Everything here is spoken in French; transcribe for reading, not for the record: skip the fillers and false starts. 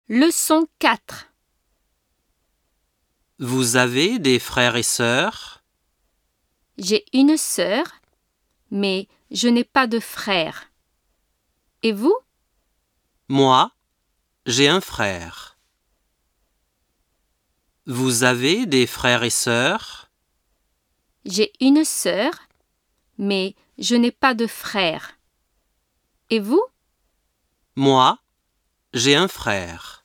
Leçon 4. Vous avez des frères et sœurs? J'ai une sœur, mais je n'ai pas de frère. Et vous? Moi, j'ai un frère. Vous avez des frères et sœurs? J'ai une sœur, mais je n'ai pas de frère. Et vous? Moi, j'ai un frère.